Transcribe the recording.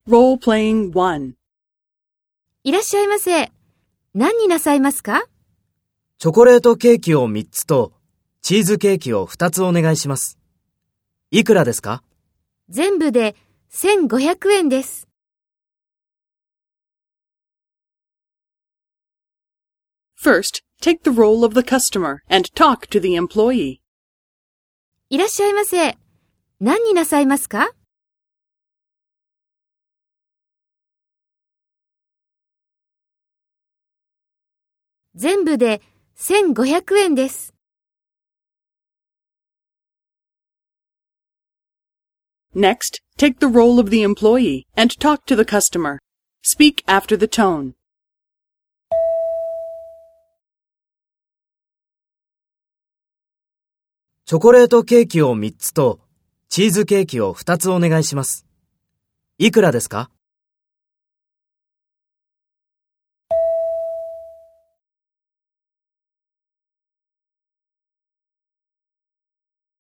Role-playing 1. いらっしゃいませ。何になさいますか？ チョコレートケーキを3つとチーズケーキを2つお願いします。いくらですか？ 全部で1500円です。 First, take the role of the customer and talk to the employee. いらっしゃいませ。何になさいますか？全部で1500円です。 Next, take the role of the employee and talk to the customer. Speak after the tone. チョコレートケーキを3つとチーズケーキを2つお願いします。いくらですか？